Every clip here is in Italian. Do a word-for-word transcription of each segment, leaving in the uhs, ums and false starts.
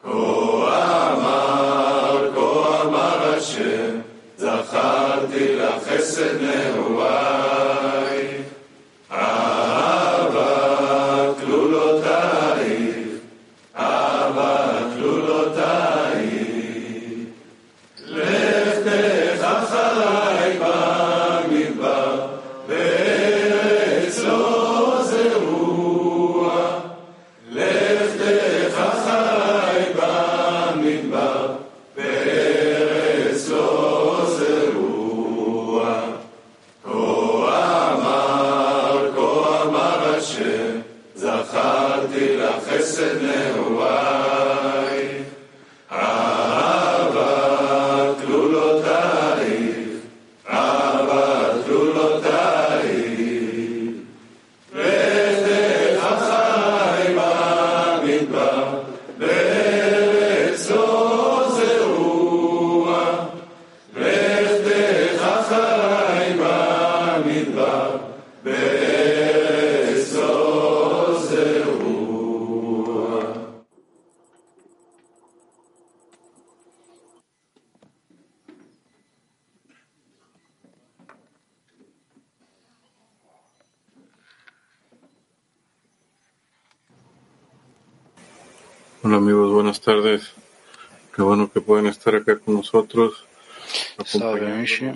Hola amigos, buenas tardes. Qué bueno que pueden estar acá con nosotros. Salve amici,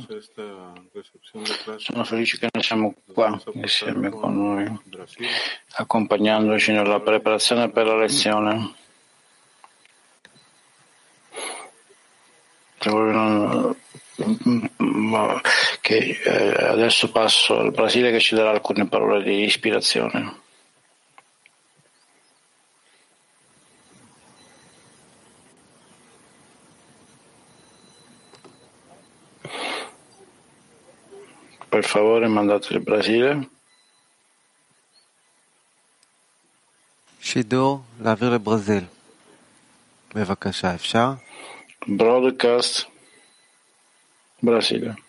sono felice che noi siamo qua insieme con noi, accompagnandoci nella preparazione per la lezione. Che adesso passo al Brasile che ci darà alcune parole di ispirazione. Per favore mandate il Brasile. שידור להעביר לברזיל. בבקשה, אפשר? Broadcast Brasile.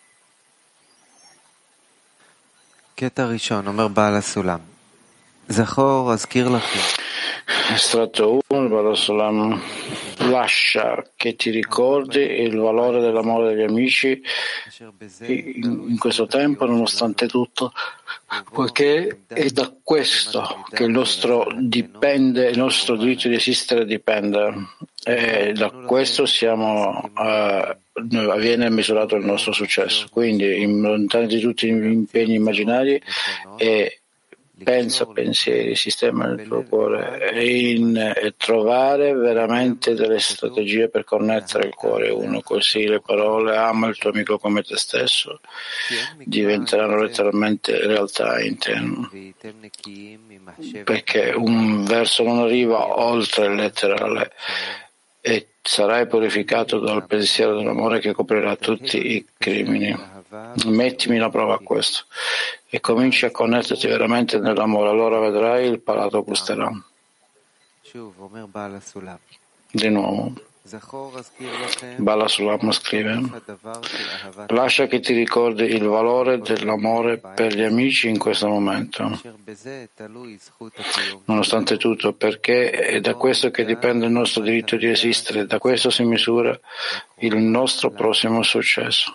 קטע ראשון, אומר בעל הסולם. זכור, אזכיר לכם. Estratto uno, il Baal Olam lascia che ti ricordi il valore dell'amore degli amici in questo tempo, nonostante tutto, poiché è da questo che il nostro dipende, il nostro diritto di esistere dipende, e da questo siamo, uh, avviene misurato il nostro successo. Quindi, in lontano di tutti gli impegni immaginari, e pensa pensieri, sistema nel tuo cuore e, in, e trovare veramente delle strategie per connettere il cuore uno, così le parole ama il tuo amico come te stesso diventeranno letteralmente realtà interna, perché un verso non arriva oltre il letterale e sarai purificato dal pensiero dell'amore che coprirà tutti i crimini. Mettimi la prova a questo e cominci a connetterti veramente nell'amore, allora vedrai il palato gusterà. Di nuovo Baal Olam scrive: lascia che ti ricordi il valore dell'amore per gli amici in questo momento, nonostante tutto, perché è da questo che dipende il nostro diritto di esistere, da questo si misura il nostro prossimo successo.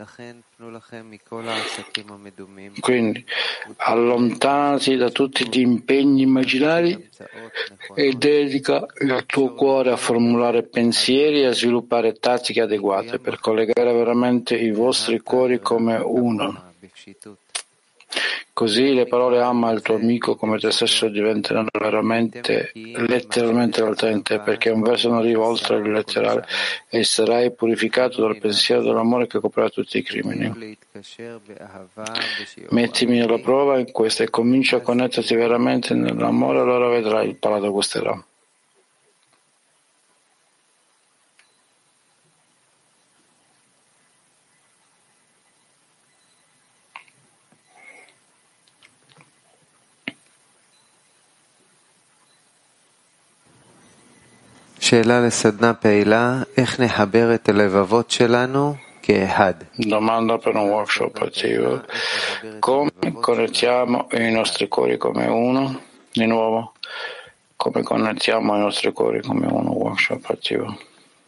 Quindi allontanati da tutti gli impegni immaginari e dedica il tuo cuore a formulare pensieri e a sviluppare tattiche adeguate per collegare veramente i vostri cuori come uno. Così le parole ama il tuo amico come te stesso diventeranno veramente, letteralmente realtà in te, perché un verso non arriva oltre il letterale e sarai purificato dal pensiero dell'amore che coprirà tutti i crimini. Mettimi alla prova in questo e comincia a connetterti veramente nell'amore, allora vedrai il palato gusterà. שאלה לסדנה פעילה, איך נחבר את הלבבות שלנו כאחד? Domanda per un workshop attivo. Come connettiamo i nostri cuori come uno? Di nuovo, come connettiamo i nostri cuori come uno workshop attivo.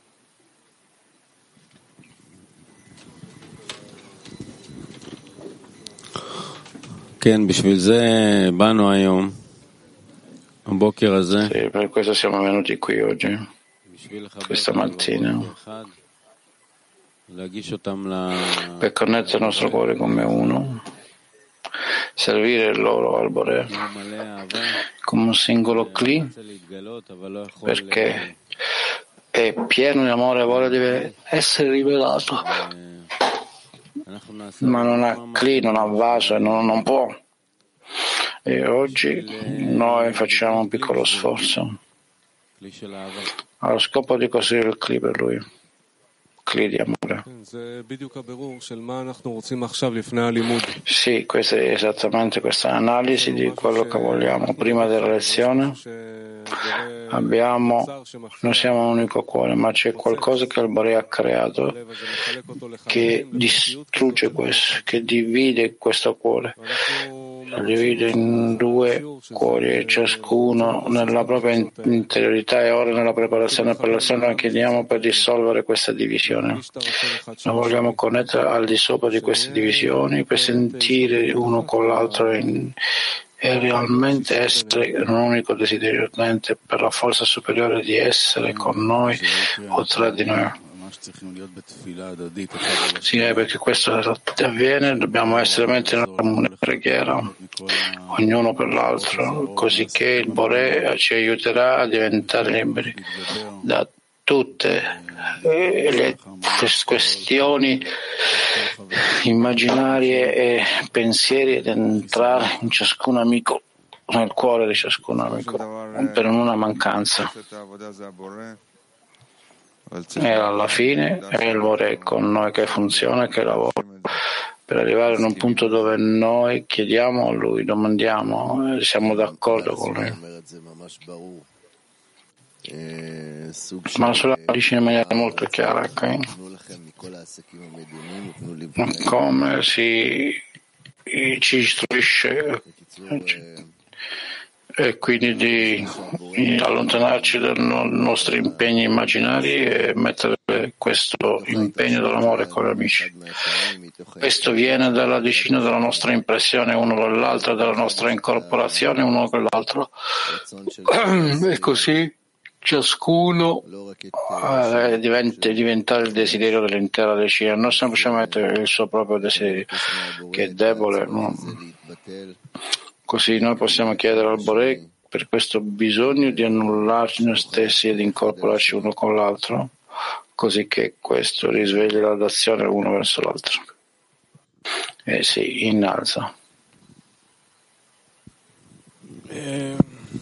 Sì, per questo siamo venuti qui oggi, questa mattina, per connettere il nostro cuore come uno, servire loro al Bore come un singolo Kli, perché è pieno di amore e voglia deve essere rivelato, ma non ha Kli, non ha vaso e non, non può. E oggi noi facciamo un piccolo sforzo allo scopo di costruire il Kli per lui, Kli di amore. Sì, questa è esattamente questa analisi di quello che vogliamo prima della lezione. Abbiamo, noi siamo un unico cuore, ma c'è qualcosa che il Bore ha creato che distrugge questo, che divide questo cuore, lo divide in due cuori e ciascuno nella propria interiorità, e ora nella preparazione per la lezione chiediamo per dissolvere questa divisione. Noi vogliamo connettere al di sopra di queste divisioni per sentire uno con l'altro in, e realmente essere un unico desiderio ardente per la forza superiore di essere con noi o tra di noi. Sì, perché questo avviene, dobbiamo essere mente in una preghiera, ognuno per l'altro, così che il Bore ci aiuterà a diventare liberi da tutte le questioni immaginarie e pensieri ed entrare in ciascun amico, nel cuore di ciascun amico, per una mancanza. E alla fine è il Bore con noi che funziona e che lavora per arrivare in un punto dove noi chiediamo a Lui, domandiamo e siamo d'accordo con Lui. Ma la sua dice in maniera molto chiara, okay? Come si ci istruisce e quindi di allontanarci dai nostri impegni immaginari e mettere questo impegno dell'amore con gli amici. Questo viene dalla decina della nostra impressione uno con l'altro, dalla nostra incorporazione uno con l'altro, e così ciascuno eh, diventa, diventare il desiderio dell'intera decina, non semplicemente il suo proprio desiderio che è debole, no? Così noi possiamo chiedere al Bore per questo bisogno di annullarci noi stessi ed incorporarci uno con l'altro, così che questo risvegli la d'azione uno verso l'altro e si innalza. Eh.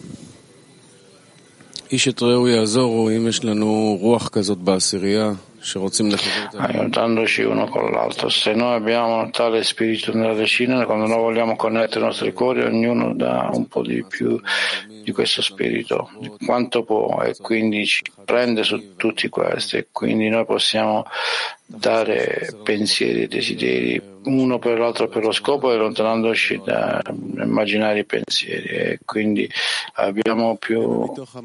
איש את רעהו יעזורו, אם יש לנו רוח כזאת בעשירייה שרוצים לחבר. Aiutandoci uno con l'altro. Se noi abbiamo tale spirito nella decina, quando noi vogliamo connettere i nostri cuori, ognuno dà un po' di più di questo spirito, di quanto può, e quindi ci prende su tutti questi, e quindi noi possiamo dare pensieri e desideri uno per l'altro per lo scopo, e allontanandoci da immaginari pensieri, e quindi abbiamo più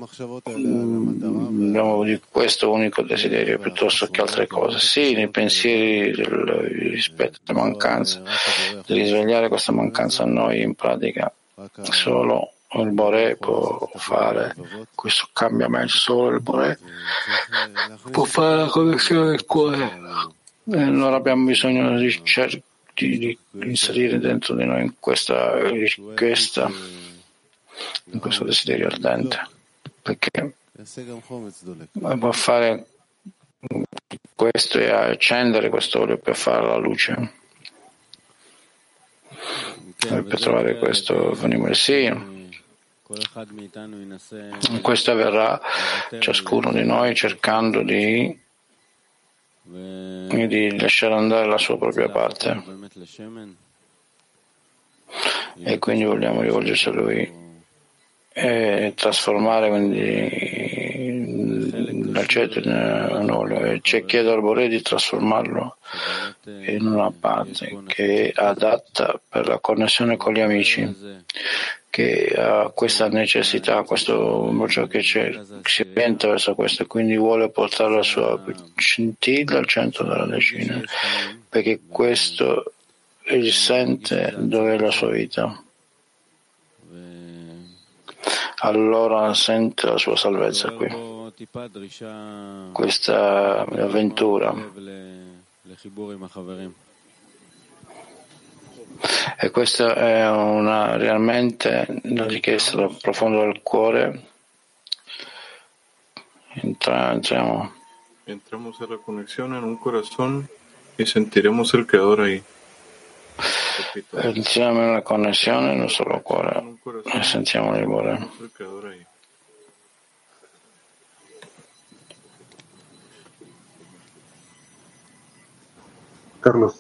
abbiamo di questo unico desiderio piuttosto che altre cose. Sì, nei pensieri del, rispetto alla mancanza, di risvegliare questa mancanza a noi, in pratica solo il Bore può fare questo cambiamento, solo il Bore può fare la connessione del cuore. E allora abbiamo bisogno di, di, di inserire dentro di noi in questa richiesta, in questo desiderio ardente, perché può fare questo e accendere questo olio per fare la luce, per trovare questo venimore. Sì, questo avverrà ciascuno di noi cercando di, di lasciare andare la sua propria parte, e quindi vogliamo rivolgerci a Lui e trasformare quindi l'aceto in un olio, e ci chiedo al Bore di trasformarlo in una parte che è adatta per la connessione con gli amici, che ha questa necessità, questo ciò che c'è, si orienta verso questo, quindi vuole portare la sua scintilla al centro della decina, perché questo il sente dove è la sua vita. Allora sente la sua salvezza qui. Questa avventura. E questa è una realmente una richiesta dal profondo del cuore. Entra, entriamo. Entramos a la conexión en un corazón y sentiremos el creador ahí. Entriamo nella connessione nel nostro cuore e sentiamo il cuore. Carlos.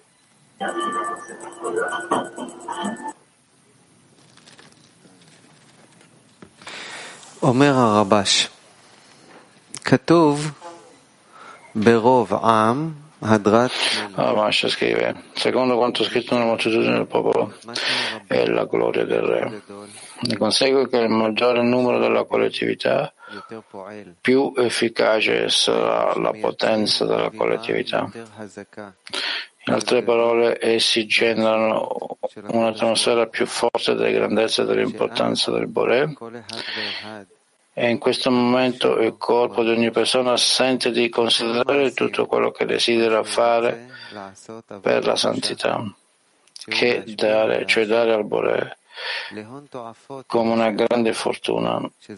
אומר הרבש, כתוב ברוב עם הדרת. Rabash scrive, secondo quanto scritto nella moltitudine del popolo è la gloria del Re. Ne consegue che il maggiore numero della collettività, più efficace sarà la potenza della collettività. In altre parole, essi generano un'atmosfera più forte delle grandezze e dell'importanza del Boré, e in questo momento il corpo di ogni persona sente di considerare tutto quello che desidera fare per la santità, che dare, cioè dare al Boré, come una grande fortuna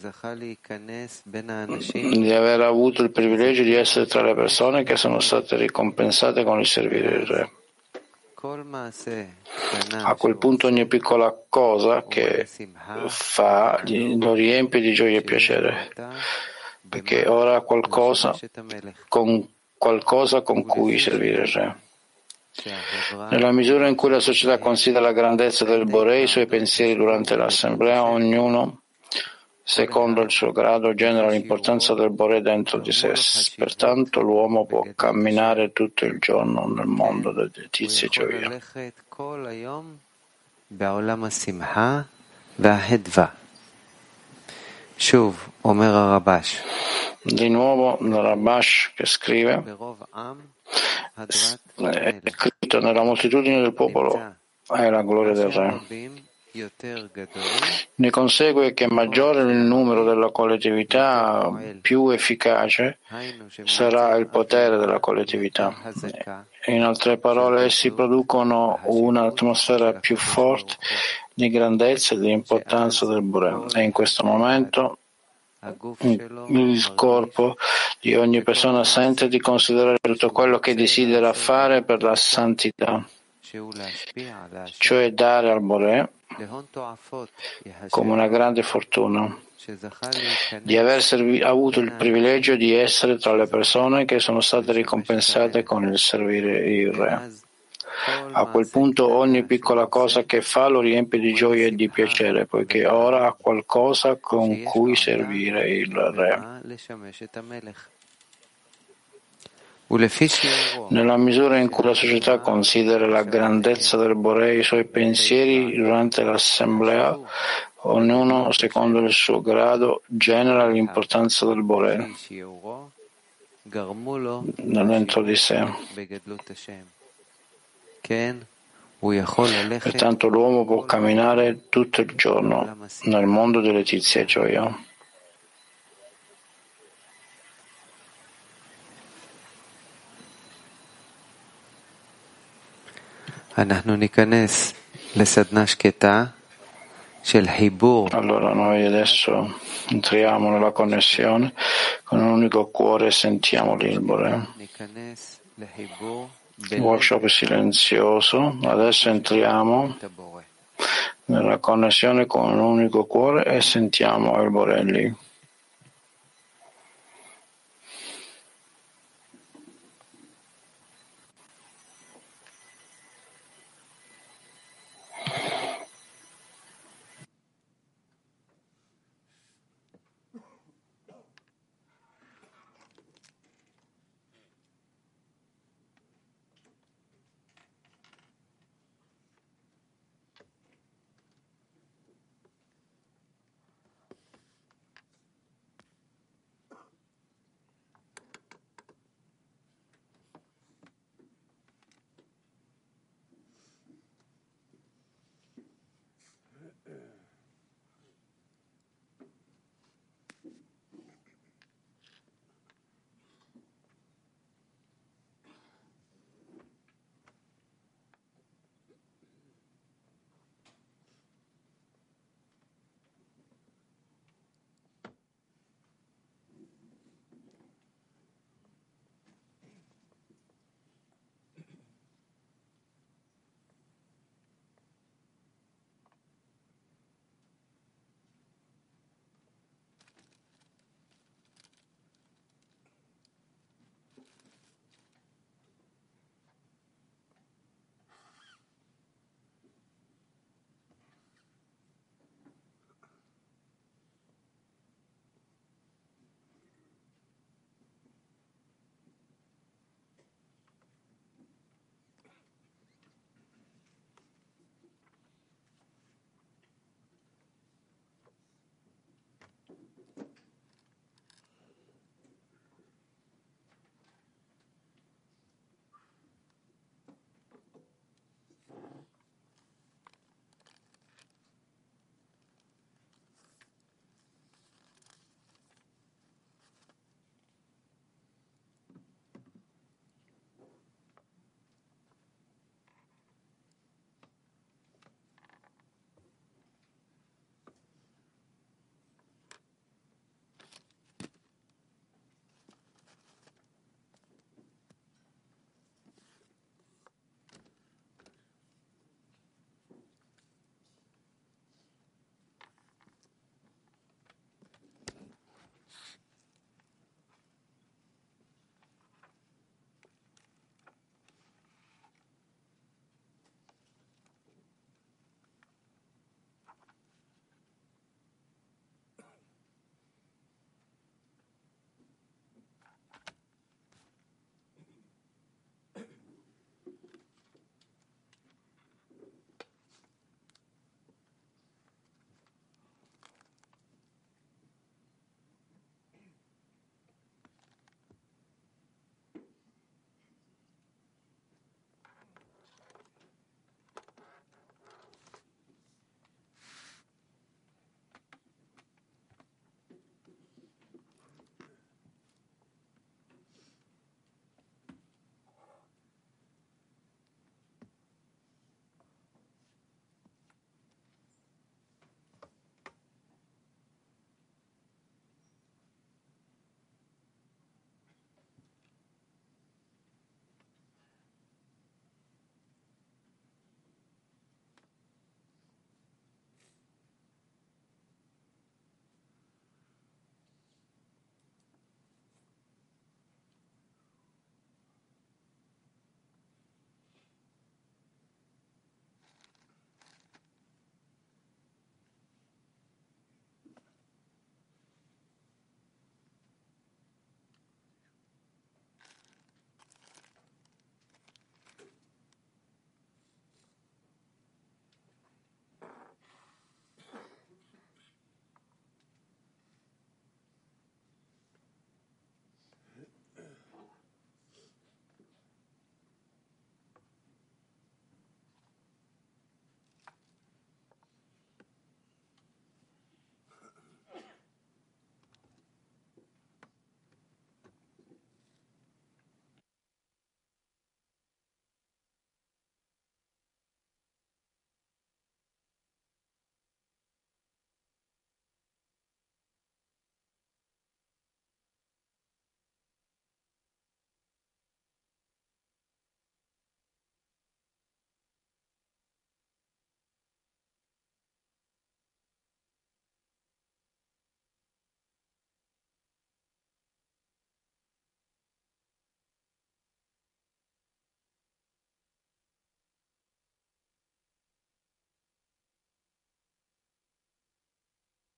di aver avuto il privilegio di essere tra le persone che sono state ricompensate con il servire il Re. A quel punto ogni piccola cosa che fa lo riempie di gioia e piacere, perché ora ha qualcosa con, qualcosa con cui servire il Re. Nella misura in cui la società considera la grandezza del Boré e i suoi pensieri durante l'assemblea, ognuno, secondo il suo grado, genera l'importanza del Boré dentro di sé. Pertanto l'uomo può camminare tutto il giorno nel mondo delle tizie e gioia. Di nuovo il Rabash che scrive, è scritto nella moltitudine del popolo è la gloria del Re. Ne consegue che maggiore il numero della collettività, più efficace sarà il potere della collettività. In altre parole, essi producono un'atmosfera più forte di grandezza e di importanza del Boré. E in questo momento il corpo di ogni persona sente di considerare tutto quello che desidera fare per la santità, cioè dare al Boré come una grande fortuna di aver servi- avuto il privilegio di essere tra le persone che sono state ricompensate con il servire il Re. A quel punto ogni piccola cosa che fa lo riempie di gioia e di piacere, poiché ora ha qualcosa con cui servire il Re. Nella misura in cui la società considera la grandezza del Boré e i suoi pensieri durante l'assemblea, ognuno, secondo il suo grado, genera l'importanza del Boré dentro di sé. Pertanto l'uomo può camminare tutto il giorno nel mondo delle tizie e gioia. Allora noi adesso entriamo nella connessione con un unico cuore e sentiamo il Boré. Il workshop è silenzioso, adesso entriamo nella connessione con un unico cuore e sentiamo il Boré lì.